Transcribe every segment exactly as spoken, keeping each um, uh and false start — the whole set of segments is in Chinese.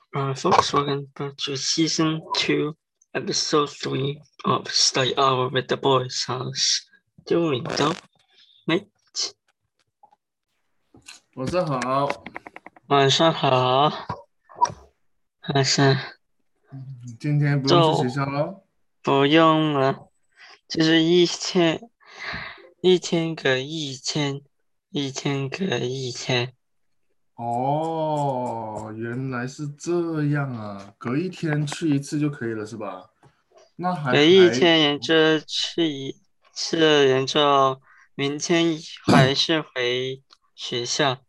Uh, folks, welcome back to season two, episode three of Stay Hour with the Boys House. 丢领导，mate， 晚上好， 晚上好，还是今天不用去学校喽？ 不用了，就是一天一天隔一天，一天隔一天。 哦，原来是这样啊，隔一天去一次就可以了，是吧？那还隔一还天，沿着去一次，沿着明天还是回学校。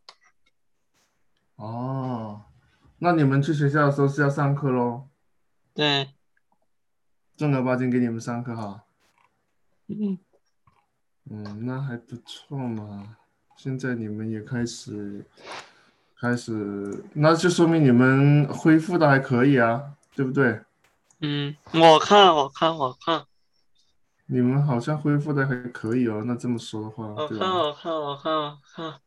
哦，那你们去学校的时候是要上课喽？ 对， 正儿八经给你们上课哈？ 嗯。 嗯，那还不错嘛。现在你们也开始开始，那就说明你们恢复的还可以啊，对不对？ 嗯，我看，我看，我看， 你们好像恢复的还可以哦，那这么说的话， 我看， 对吧？ 我看，我看，我看，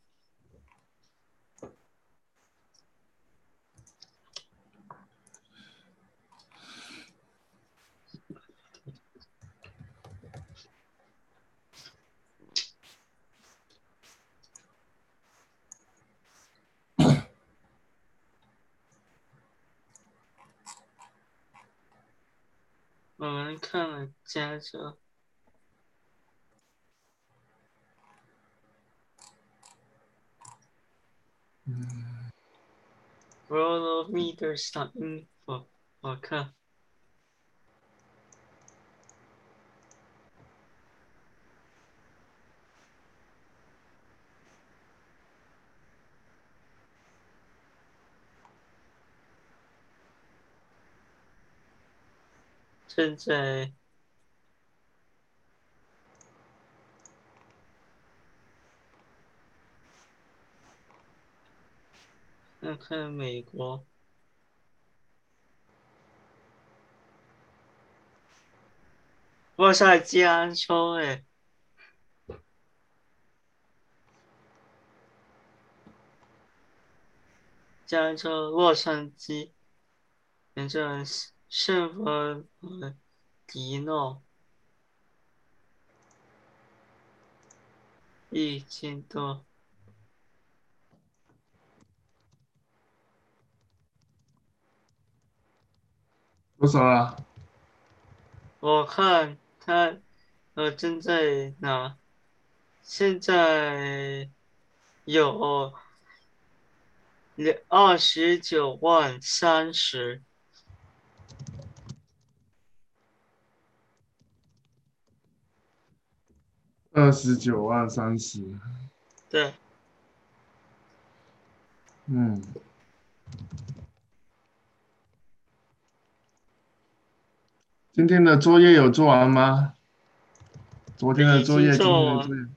我们看了加州 World of Meters 的 info，我看现在看看美国，哇塞，加州诶，加州洛杉矶，沿着圣伯纳迪诺一千多， 多少啊？ 我看他呃正在拿，现在有。二十九万三十， 二十九万三十。 对， 嗯，今天的作业有做完吗？昨天的已经作业，今天做完。 的作业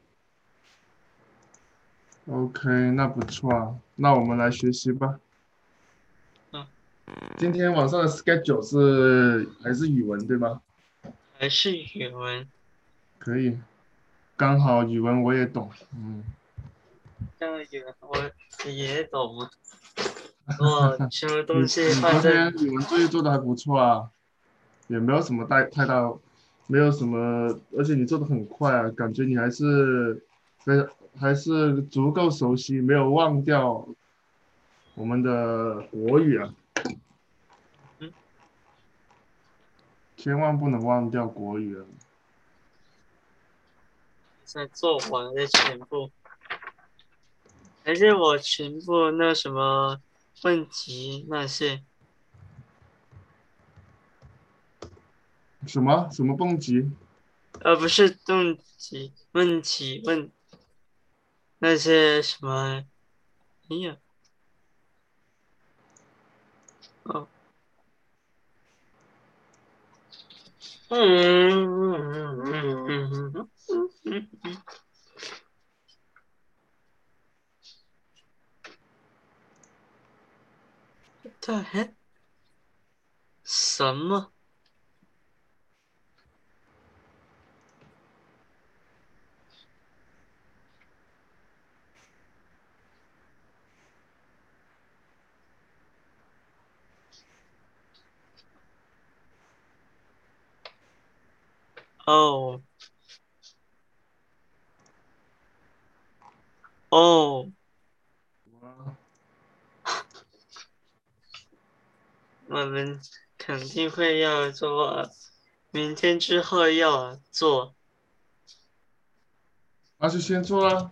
，OK，那不错啊。那我们来学习吧。 嗯， 今天晚上的 schedule 是还是语文对吧？ 还是语文， 可以，刚好语文我也懂。嗯， 这个语文我也懂啊。我什么东你西你昨放在天语文作业做的还不错啊，也没有什么太太大，没有什么，而且你做的很快啊，感觉你还是非还是足够熟悉，没有忘掉我们的国语啊， 嗯， 千万不能忘掉国语啊。 在做完的全部，还是我全部那什么问题那些， 什么什么蹦极？ 而不是动机问题问那些什么，哎呀，哦，嗯嗯嗯嗯嗯嗯嗯嗯 ，what the heck？什么？ 哦哦，我们肯定会要做，明天之后要做。 那就先做了。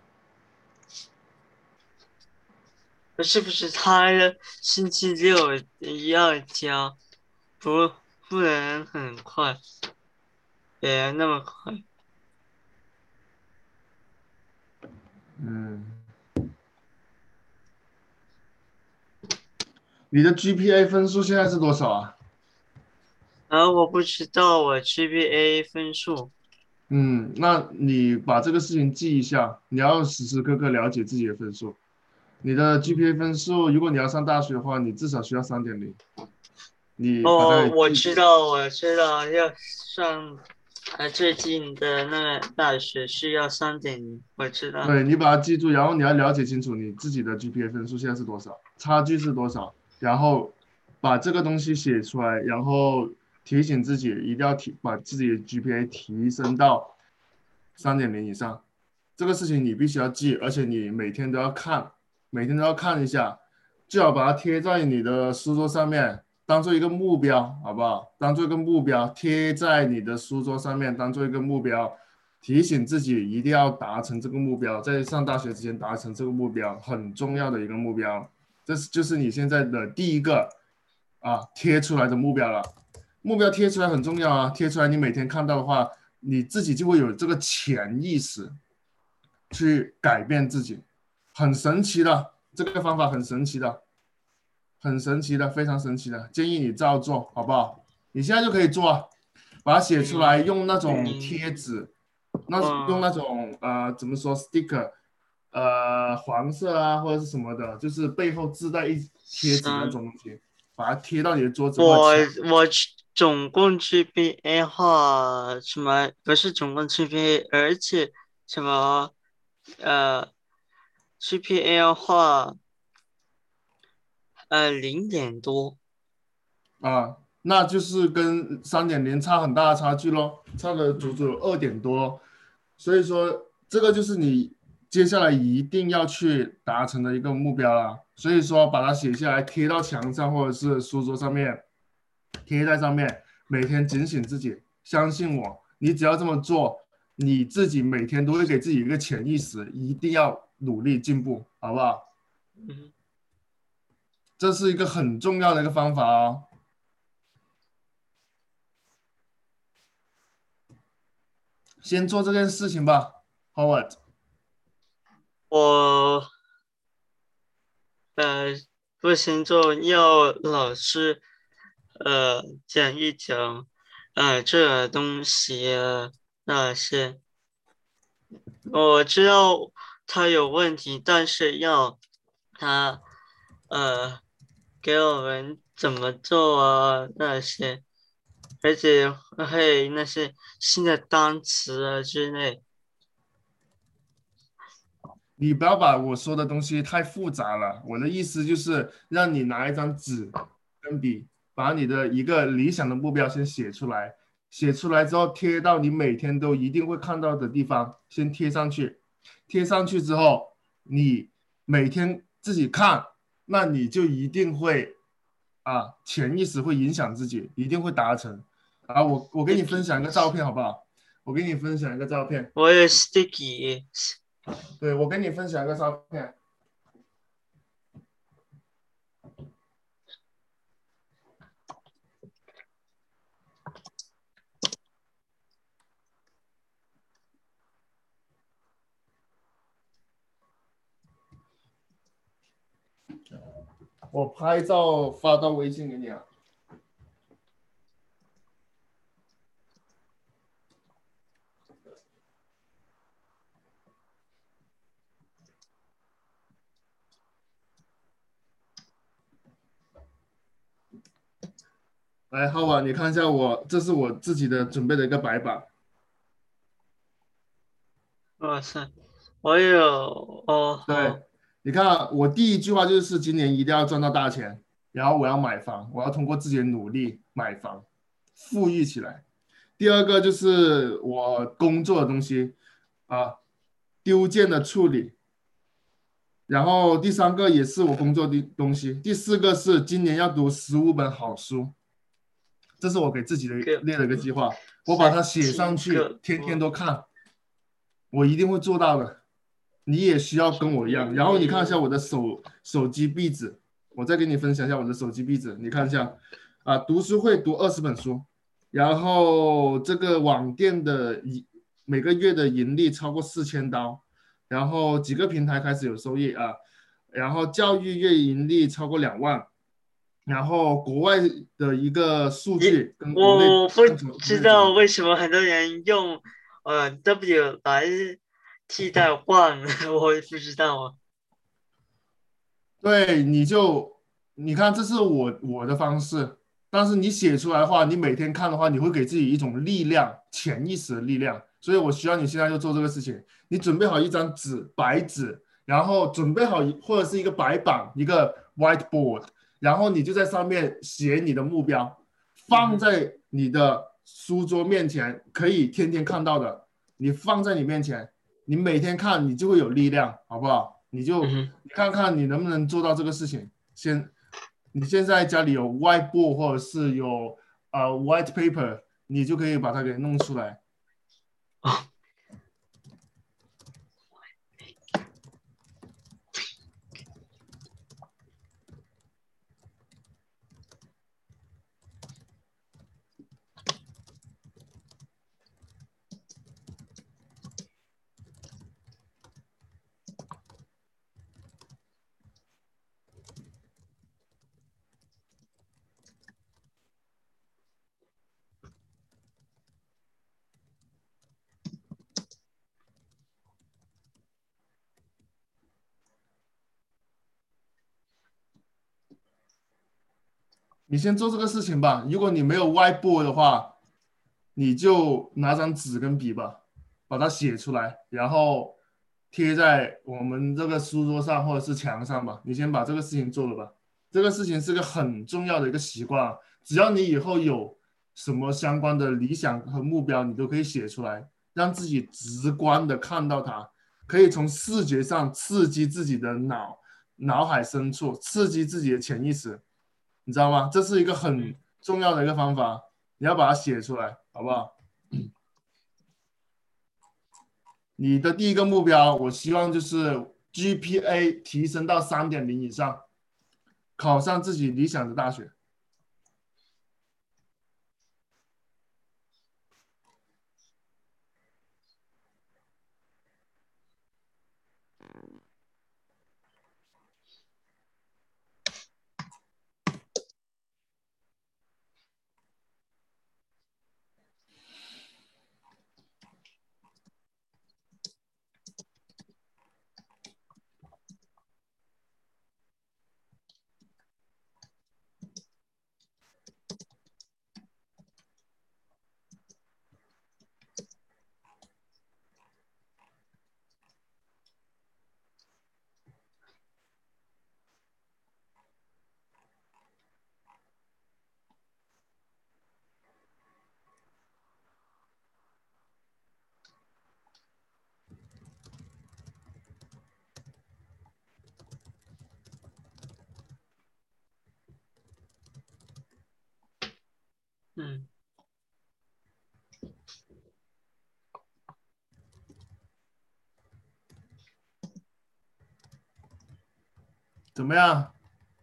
不是不是，他星期六要交，不不能很快，别那么快。 嗯，你的 G P A 分数现在是多少啊？ 然后我不知道我 G P A 分数。 嗯，那你把这个事情记一下，你要时时刻刻了解自己的分数。你的 G P A 分数，如果你要上大学的话，你至少需要三点零，你把它哦， 给我记住。 知道，我知道，要上，呃，最近的那个大学是要三点零，我知道。 对，你把它记住，然后你要了解清楚你自己的 G P A 分数现在是多少，差距是多少，然后把这个东西写出来，然后提醒自己一定要提把自己的 G P A 提升到三点零以上。这个事情你必须要记，而且你每天都要看，每天都要看一下，最好把它贴在你的书桌上面，当做一个目标，好不好？当做一个目标，贴在你的书桌上面，当做一个目标。提醒自己一定要达成这个目标，在上大学之前达成这个目标，很重要的一个目标。这是就是你现在的第一个啊贴出来的目标了。目标贴出来很重要啊，贴出来你每天看到的话，你自己就会有这个潜意识去改变自己，很神奇的，这个方法很神奇的，很神奇的，非常神奇的，建议你照做，好不好？你现在就可以做，把它写出来， 嗯用那种嗯， 贴纸。那用哦， 那种呃怎么说 sticker，呃黄色啊或者是什么的，就是背后自带一贴纸那三， 种东西，把它贴到你的桌子或者我墙。 我总共 G P A 话什么不是总共 G P A，而且什么呃 G P A 话呃零点多。 啊，那就是跟三点零差很大的差距咯，差了足足嗯有二点多，所以说这个就是你接下来一定要去达成的一个目标啦。所以说把它写下来，贴到墙上或者是书桌上面，贴在上面，每天警醒自己，相信我，你只要这么做，你自己每天都会给自己一个潜意识，一定要努力进步，好不好？ 嗯， 这是一个很重要的一个方法哦。先做这件事情吧，Howard。 我呃不行就要老师呃讲一讲呃这东西啊那些。我知道他有问题，但是要他呃给我们怎么做啊那些，而且还有那些新的单词啊之类。 你不要把我说的东西太复杂了。我的意思就是让你拿一张纸跟笔，把你的一个理想的目标先写出来，写出来之后贴到你每天都一定会看到的地方，先贴上去。贴上去之后，你每天自己看，那你就一定会啊，潜意识会影响自己，一定会达成。啊，我我给你分 sticky， 享一个照片好不好？我给你分享一个照片。 我有 sticky。 对，我给你分享一个照片。我拍照发到微信给你啊。来，浩吧，你看一下我，这是我自己的准备的一个白板。 哇塞，我有哦对， 好。 你看啊我第一句话就是今年一定要赚到大钱，然后我要买房，我要通过自己的努力买房，富裕起来。 第二个就是我工作的东西啊，丢件的处理。然后第三个也是我工作的东西，第四个是今年要读十五本好书，这是我给自己的个列了一个计划，我把它十写上去， 七个， 天天我都看，我一定会做到的。你也需要跟我一样。然后你看一下我的手手机壁纸，我再给你分享一下我的手机壁纸，你看一下啊，读书会读二十本书，然后这个网店的每个月的盈利超过四千刀，然后几个平台开始有收益啊，然后教育月盈利超过两万，然后国外的一个数一据跟国内我不看怎么国知道内怎么。 为什么很多人用呃 W 来替代 one，我也不知道啊。 对，你就你看，这是我我的方式，但是你写出来的话，你每天看的话，你会给自己一种力量，潜意识的力量。所以我需要你现在就做这个事情，你准备好一张纸，白纸，然后准备好一或者是一个白板，一个 whiteboard，然后你就在上面写你的目标， 嗯哼， 放在你的书桌面前，可以天天看到的，你放在你面前，你每天看，你就会有力量，好不好？你就嗯哼， 你看看你能不能做到这个事情。先，你现在家里有 whiteboard 或者是有呃 white paper，你就可以把它给弄出来。 哦， 你先做这个事情吧。如果你没有 whiteboard 的话，你就拿张纸跟笔吧，把它写出来，然后贴在我们这个书桌上或者是墙上吧。你先把这个事情做了吧。这个事情是个很重要的一个习惯，只要你以后有什么相关的理想和目标，你都可以写出来，让自己直观的看到它，可以从视觉上刺激自己的脑脑海深处，刺激自己的潜意识。你知道吗？这是一个很嗯重要的一个方法，你要把它写出来，好不好？你的第一个目标，我希望就是 G P A 提升到三点零以上，考上自己理想的大学。 嗯， 怎么样？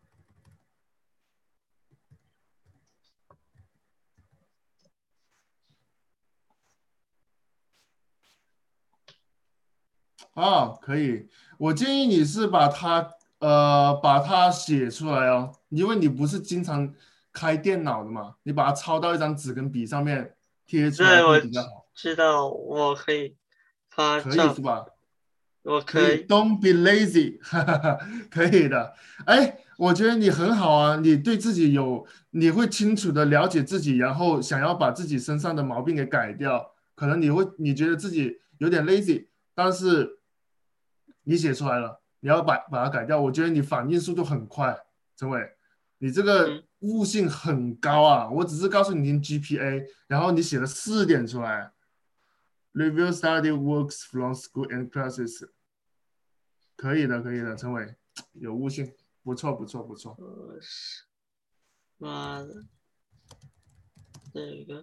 哦，可以。我建议你是把它呃把它写出来哦，因为你不是经常开电脑的嘛，你把它抄到一张纸跟笔上面贴出来对，我会比较好。 知道，我可以发可以照， 是吧？可以我可以， ，Don't be lazy，哈哈哈，可以的。哎，我觉得你很好啊，你对自己有，你会清楚的了解自己，然后想要把自己身上的毛病给改掉。可能你会，你觉得自己有点 lazy，但是你写出来了，你要把把它改掉。我觉得你反应速度很快，陈伟，你这个嗯悟性很高啊！我只是告诉你 G P A，然后你写了四点出来，review study works from school and classes，可以的，可以的，陈伟有悟性，不错，不错，不错。 我是妈的，这个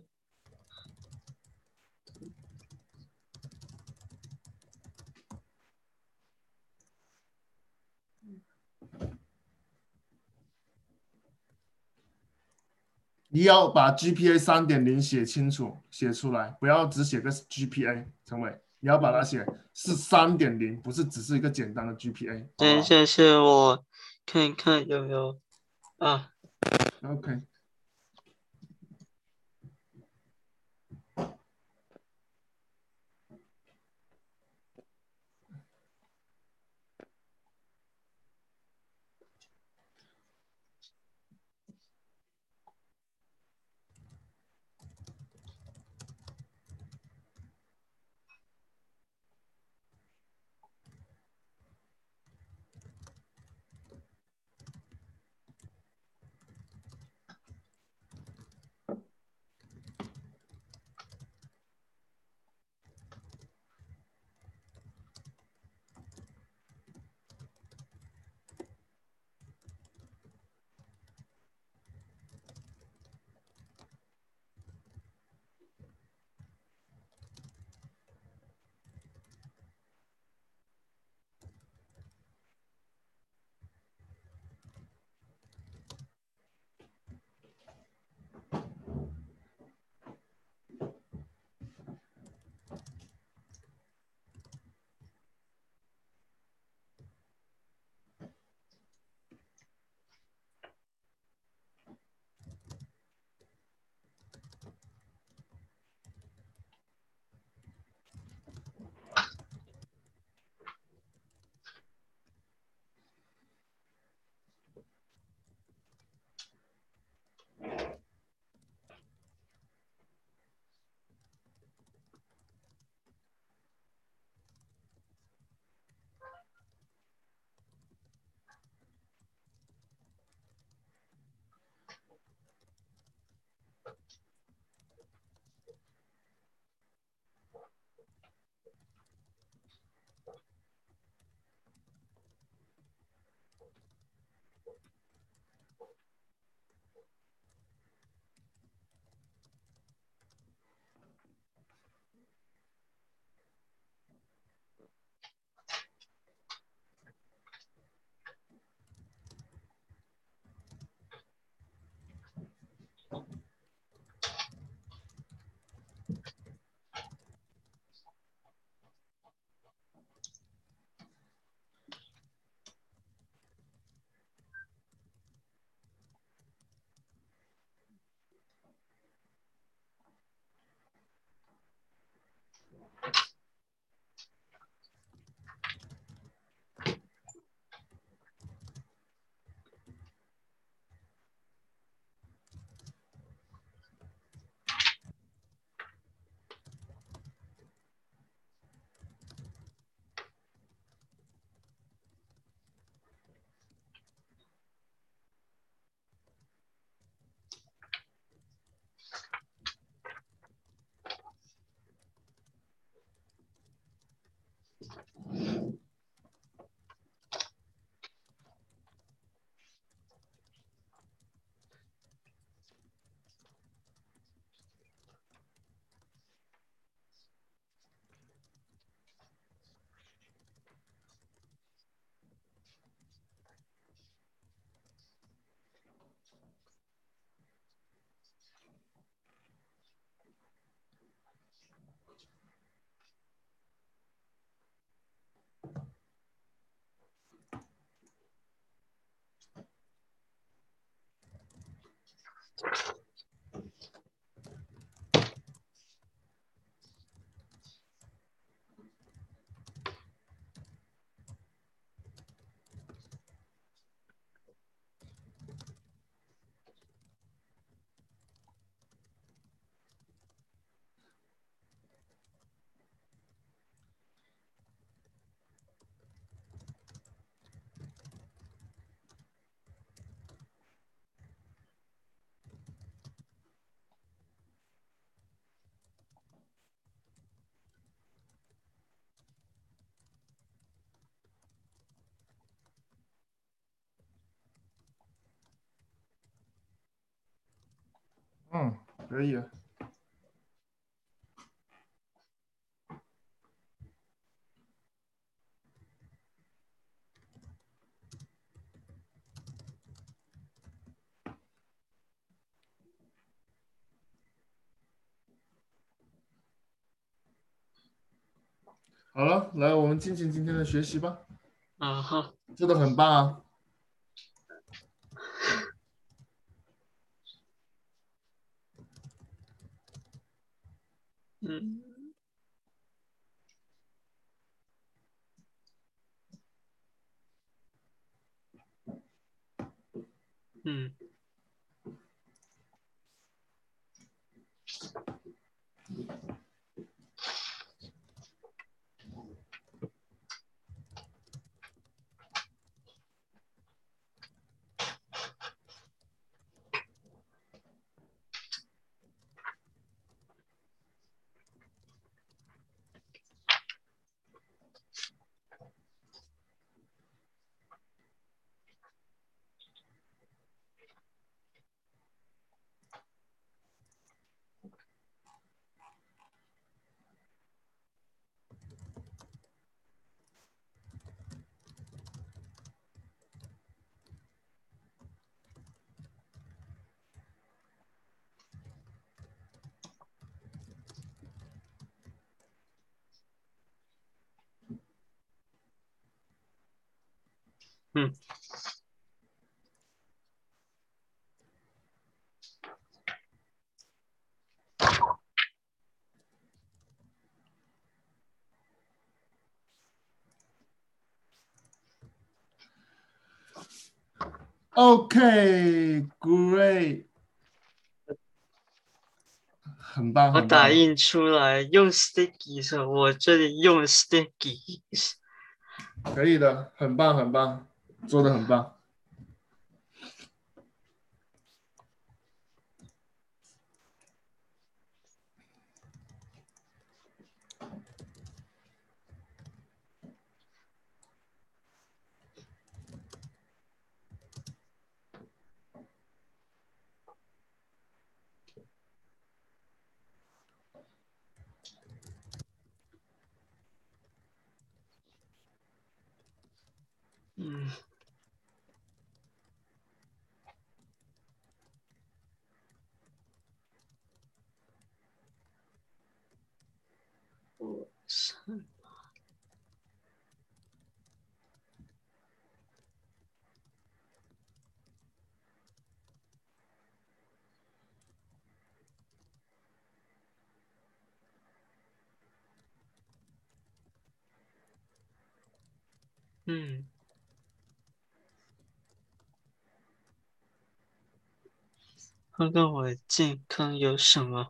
你要把 G P A 三点零写清楚，写出来，不要只写个 G P A。陈伟，你要把它嗯， 写是三点零，不是只是一个简单的 G P A，好不好等一下是我看看有没有啊。 ？OK。 嗯，可以啊。好了，来，我们进行今天的学习吧。 啊哈， 做的很棒啊。 嗯嗯嗯 OK，great，很棒， 我很棒， 打印出来用 sticky 时候，我这里用 sticky。 可以的，很棒，很棒，做的很棒。 嗯，我是嗯，看看我的健康有什么？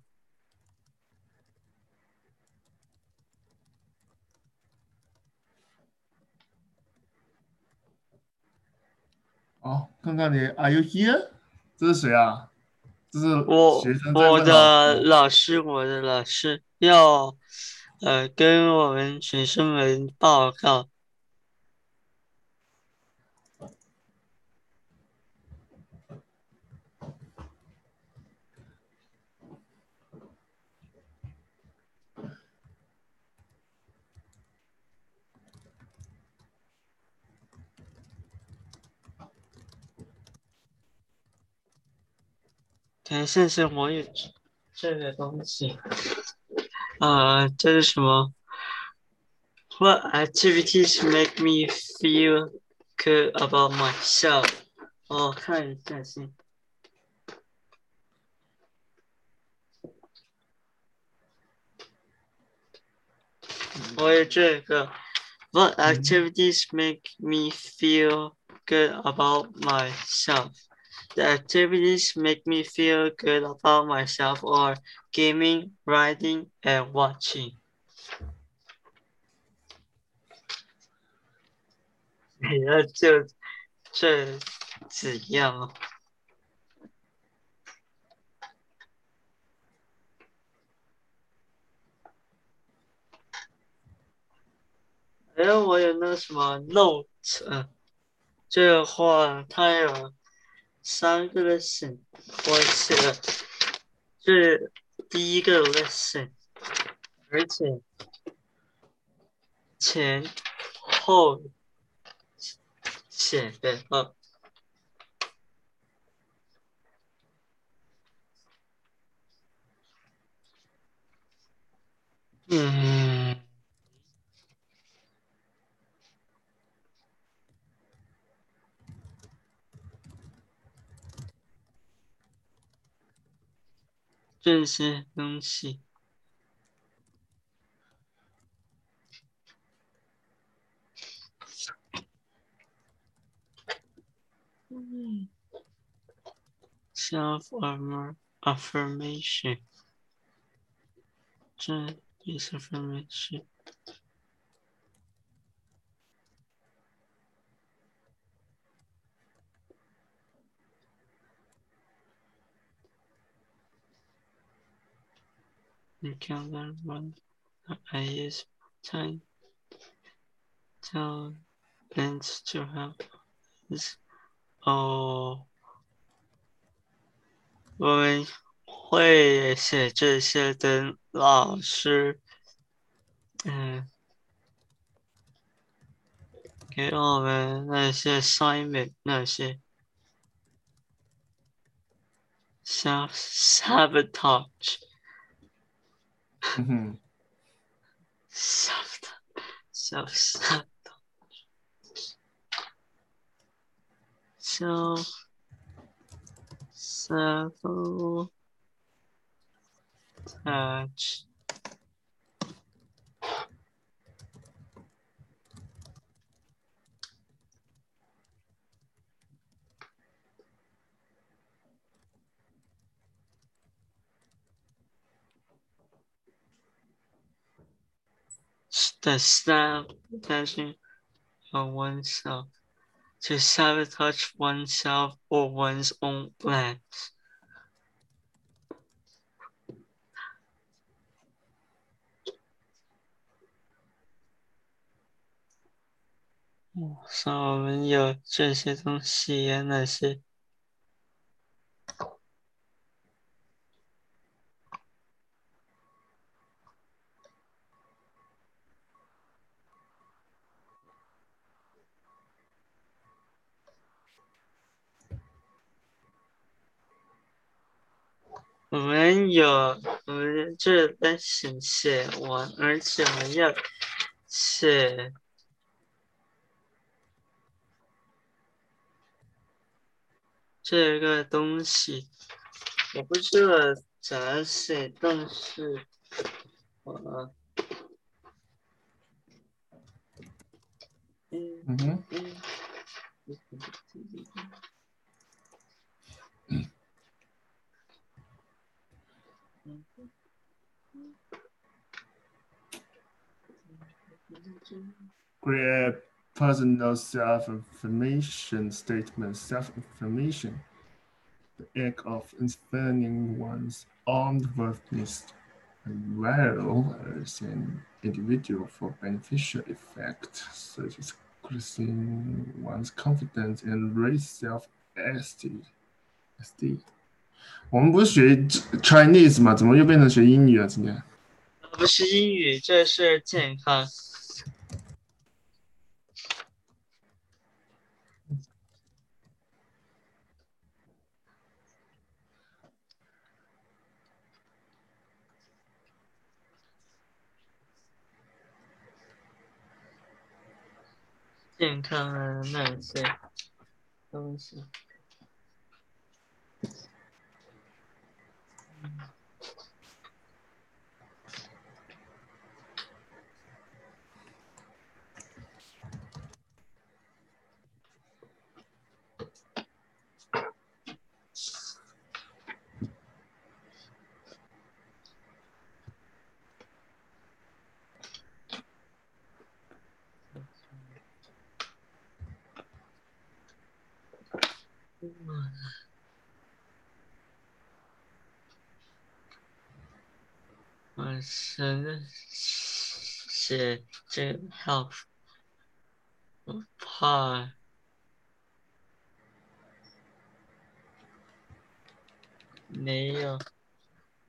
好，看看你，Are you here？这是谁啊？这是学我生在我问老师的吗？ 老师，我的老师要呃跟我们学生们报告。等一下，是我有这个东西。啊，这是什么？What activities make me feel good about myself？哦，看一下先。我有这个。What 嗯 activities make me feel good about myself? The activities make me feel good about myself are gaming, writing, and watching. 你要就这几样哦。哎，我有那个什么 note，嗯，这个话它有三个的选，我写了是第一个 lesson，而且前后写的哦。嗯，这些东西。嗯 self affirmation， 这也是 affirmation。You can learn one I use time talents to help us. 哦，我们会写这些的老师，嗯，给我们那些 assignment 那些 self sabotage 嗯哼 self self sabotage self sabotage。The sabotaging of oneself, to sabotage oneself or one's own plans. 所以我们有这些东西呀，那些我们有我们这单行写完，而且我们要写这个东西。我不知道怎么写，但是我嗯嗯哼。 嗯。 Create personal self-affirmation statements. Self-affirmation, the act of affirming one's own worthiness and value as an individual for beneficial effects, such as increasing one's confidence and raise self-esteem. esteem. 我们不是学 Chinese 吗？怎么又变成学英语了？今天？ 不是英语，这是健康。健康的那些东西。我是写这个 health，我怕没有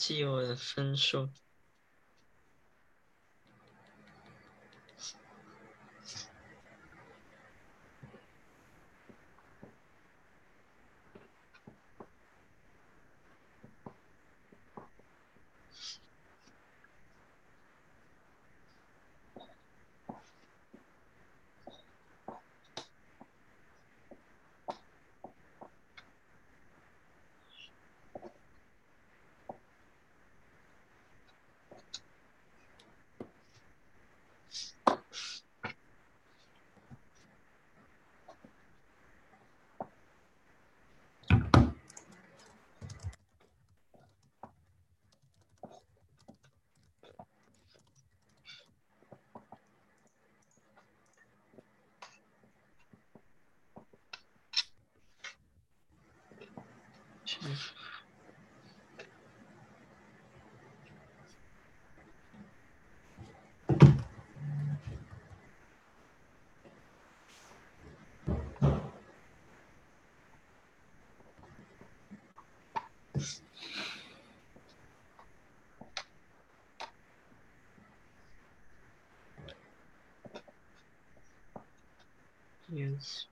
记我的分数。Yes.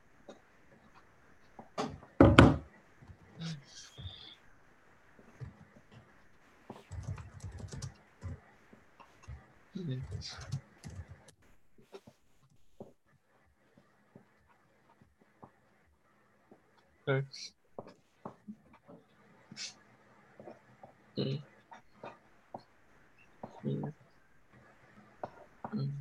Yes. First. Mm. Mm. Mm.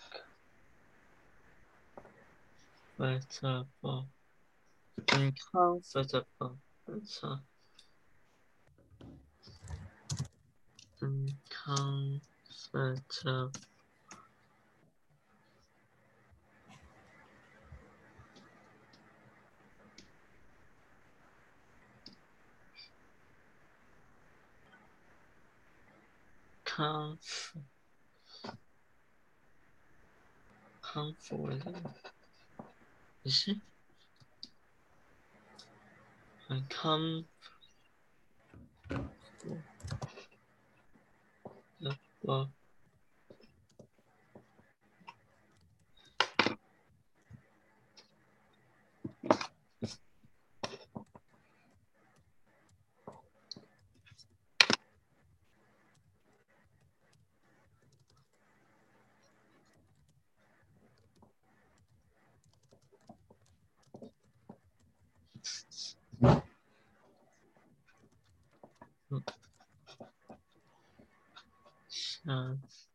Comfortable. Uncomfortable. That's all. Uncomfortable. Comf comfortable. Is it? Uncomfortable. Uh,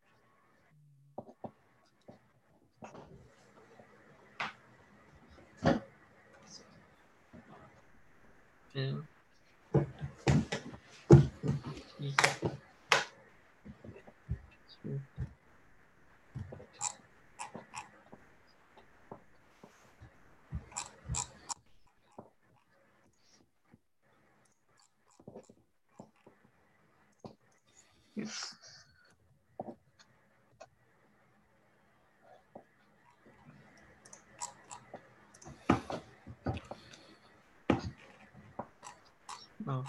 Bill. Yes. Oh.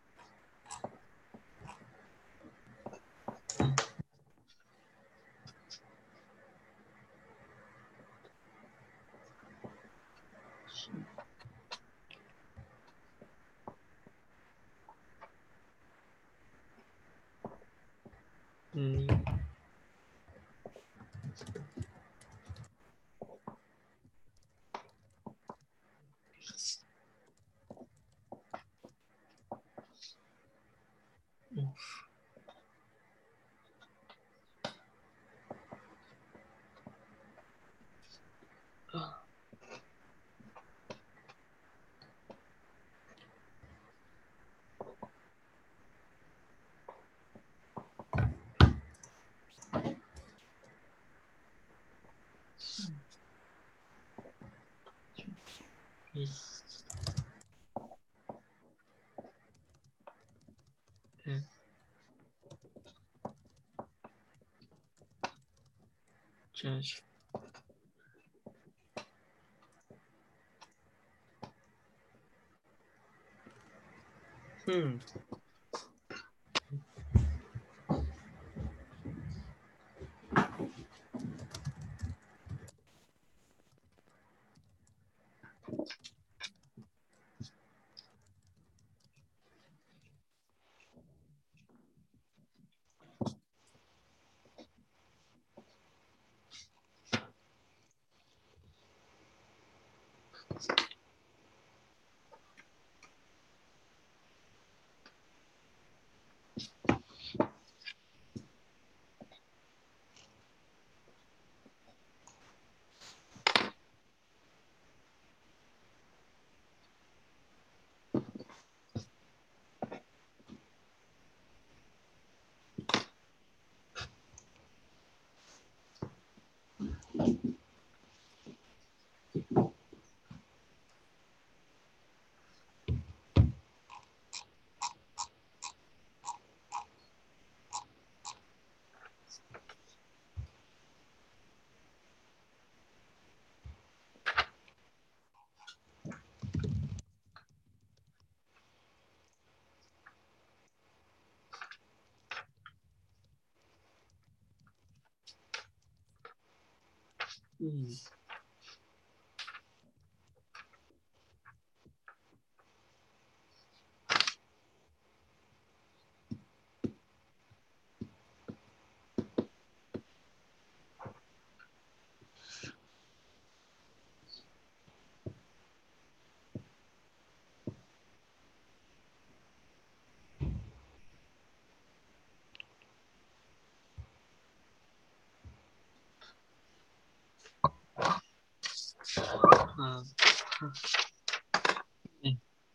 Mm. Oof. Ah. Yes. Yeah. Judge. Hmm. 嗯。嗯。嗯。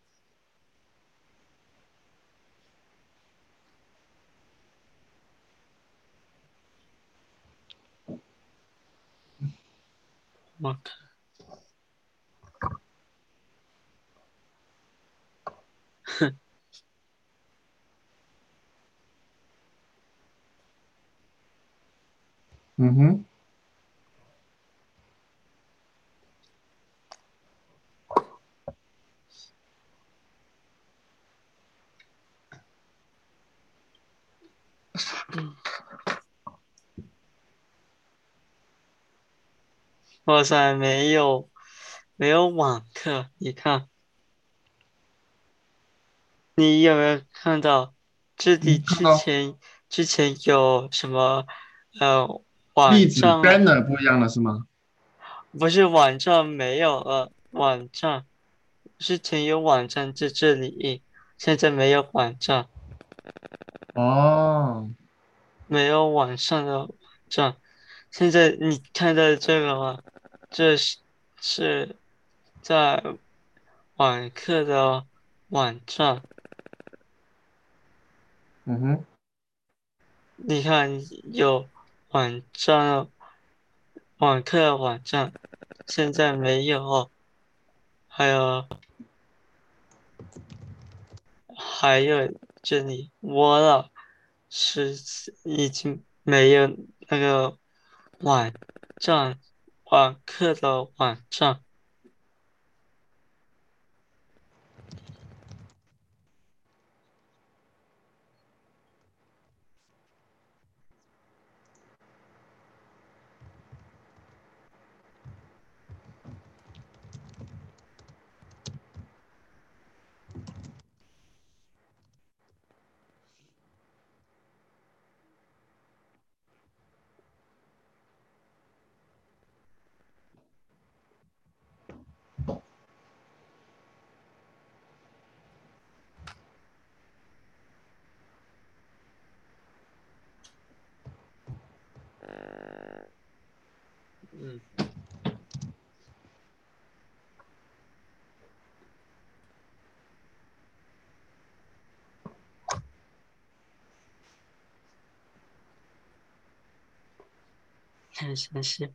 我看。哼。 嗯哼。 哇塞，没有没有网课，你看，你有没有看到这里嗯，看之到前之前有什么呃网例子站？ banner 不一样了是吗？ 不是网站没有了，网站之前有网站在这里，现在没有网站， 哦。 没有网上的网站。现在你看到这个吗？这是是在网课的网站。 嗯哼。 你看有网站，网课网站，现在没有。还有还有这里，我了是已经没有那个网站，网课的网站。嗯。看详细。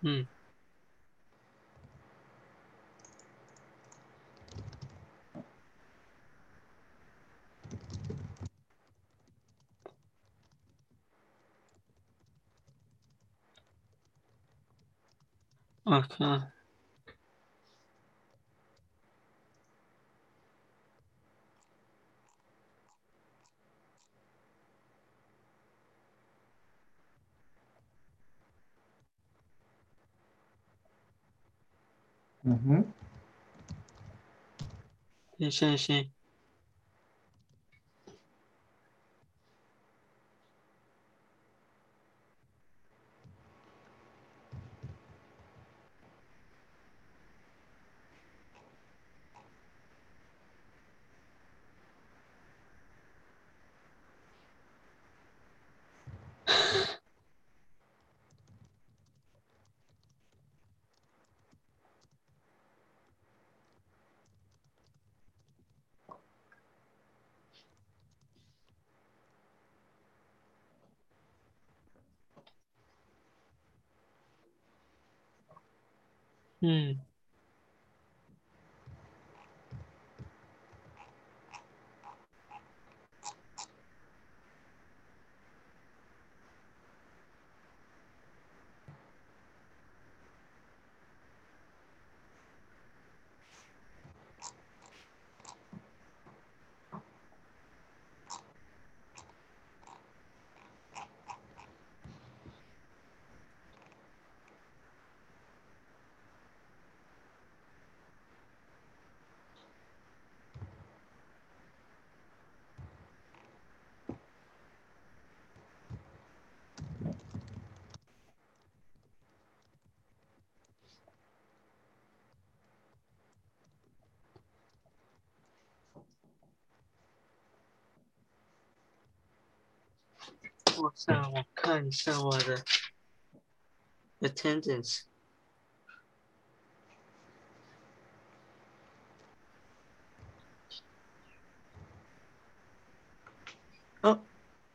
嗯。OK。 嗯哼。 行行行。嗯。我想我看一下我的 attendance。哦。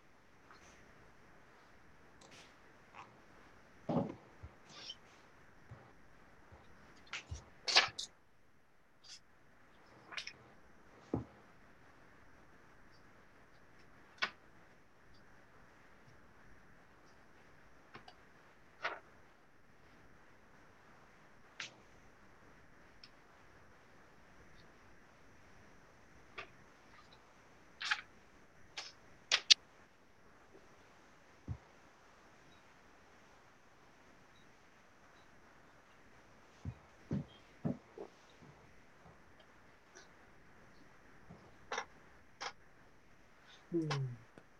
嗯。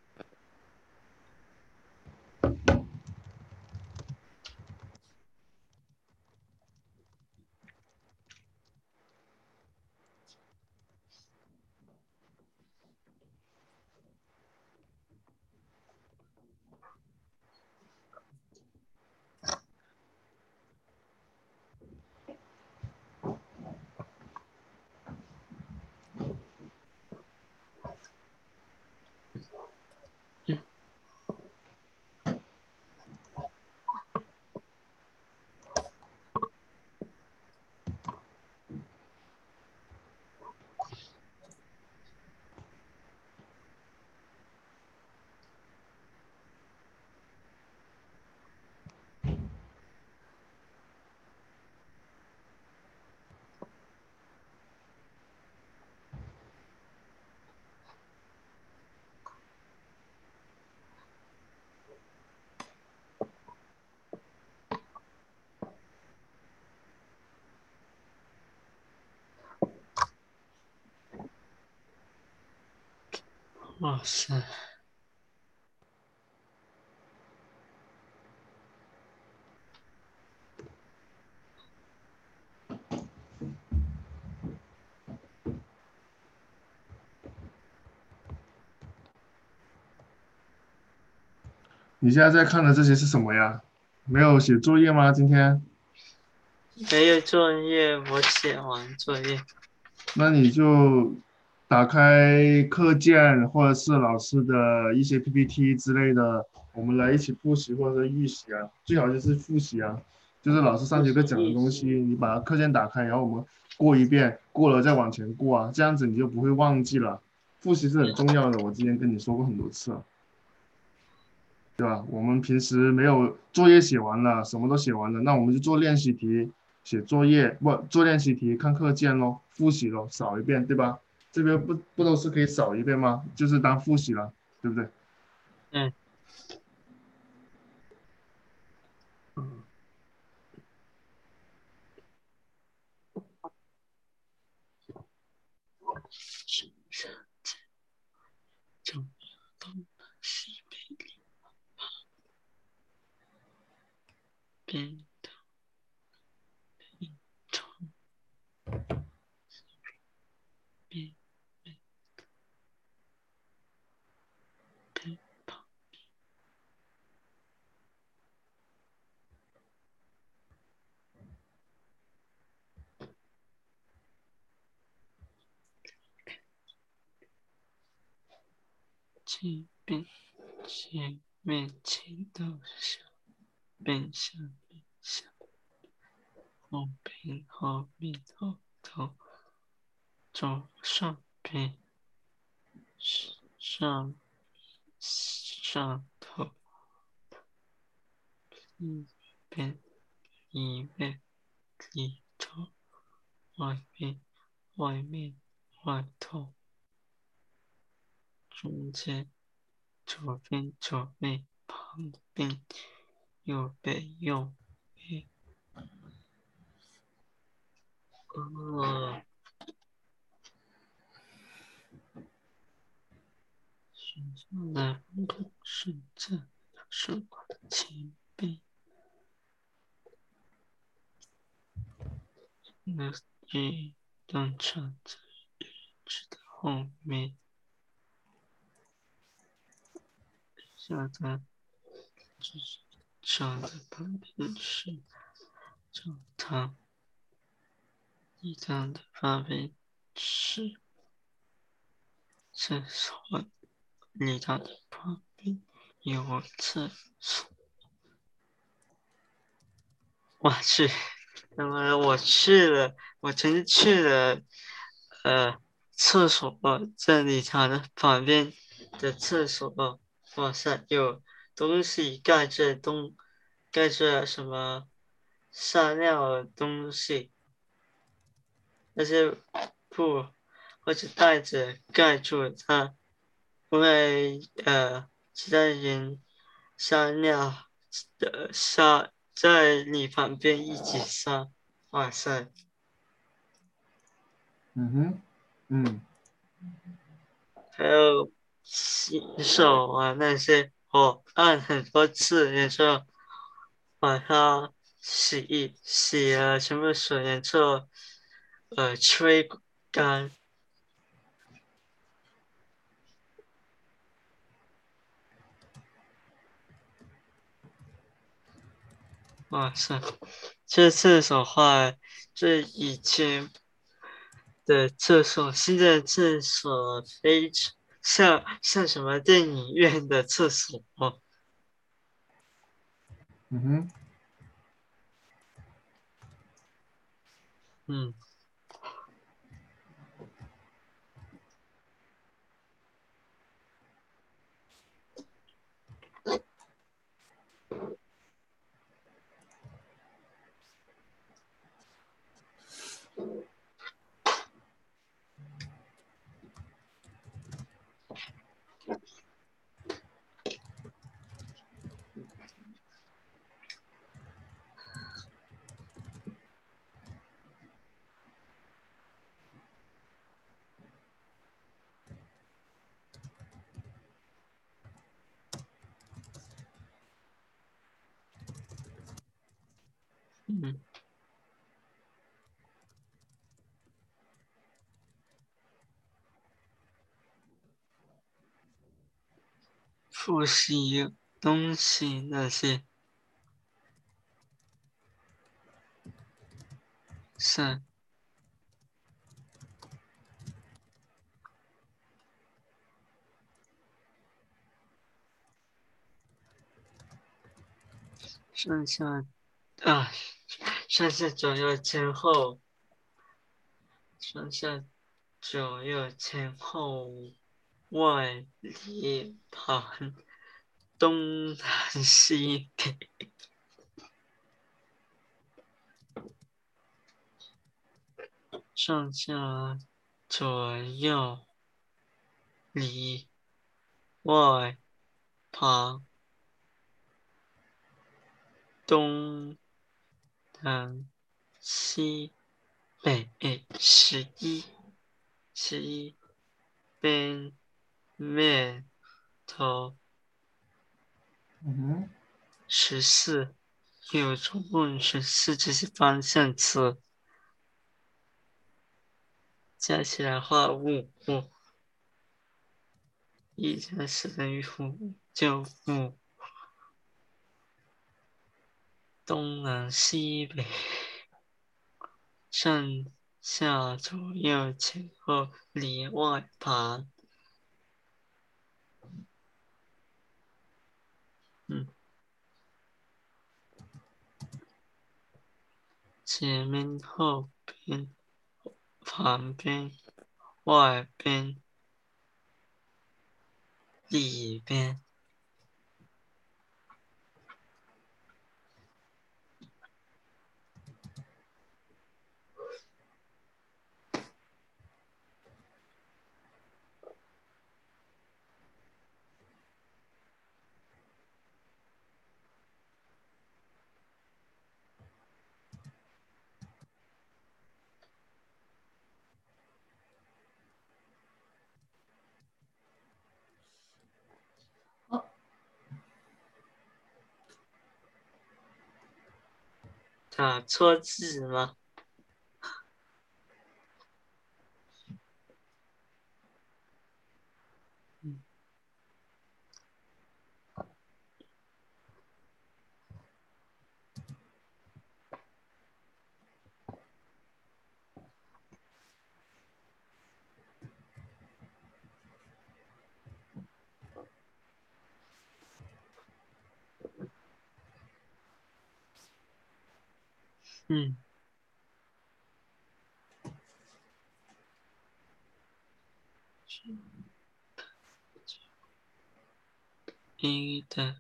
哇塞。 你现在在看的这些是什么呀？没有写作业吗？今天？ 没有作业，我写完作业。 那你就打开课件或者是老师的一些 P P T 之类的，我们来一起复习或者是预习啊，最好就是复习啊。 就是老师上节课讲的东西，你把课件打开，然后我们过一遍，过了再往前过啊，这样子你就不会忘记了。复习是很重要的，我之前跟你说过很多次了，对吧？我们平时没有作业写完了，什么都写完了，那我们就做练习题、写作业，不做练习题、看课件咯，复习咯，扫一遍，对吧？这边不不都是可以扫一遍吗？就是当复习了，对不对？ 嗯嗯，是是正东西北边的一长边边旁这边前面前到小边下边下后边后面后头左上边上上头一边里面里头外面外面外头中间左边左边旁边右边右边。哦，学校的门口是在图书馆的前边，那一辆车在椅子的后面，下的就是车的旁边是教堂，礼堂的旁边是厕所，礼堂的旁边有厕所。我去，那么我去了，我曾经去了，呃，厕所在礼堂的旁边的厕所，哇塞，有东西盖着东，盖着什么撒尿的东西，那些布或者袋子盖住它，因为呃，其他人撒尿的撒在你旁边一起撒，哇塞！ 嗯哼，嗯还有洗手啊那些，我按很多次，然后把它洗一洗了全部水，然后呃吹干。哇塞，这厕所话，这以前的厕所，现在的厕所非常像像什么电影院的厕所。 嗯哼。 嗯嗯，复习东西那些，是剩下啊。 上下左右前后，上下左右前后，外里旁，东南西北。上下左右里外旁，东南西北。十一，十一边面头。 嗯哼， 十四，有总共十四这些方向词，加起来画五五，一加四等于五，就五。东南西北，上下左右前后里外旁。嗯，前面后边旁边外边里边。打错字吗？嗯嗯，一的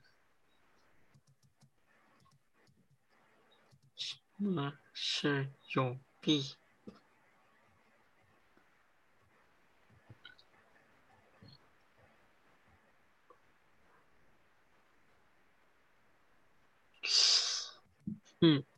什么是有弊？嗯。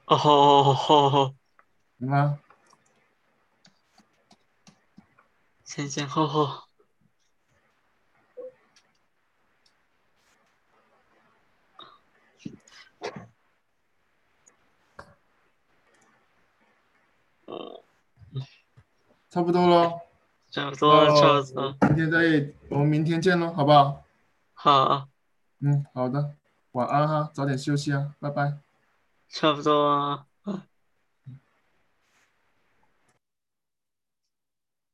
哦， 行吗？ 前前后后，嗯， 差不多咯。那差不多，差不多， 明天再，我们明天见咯，好不好？ 好， 嗯，好的，晚安哈，早点休息啊，拜拜。 差不多啊。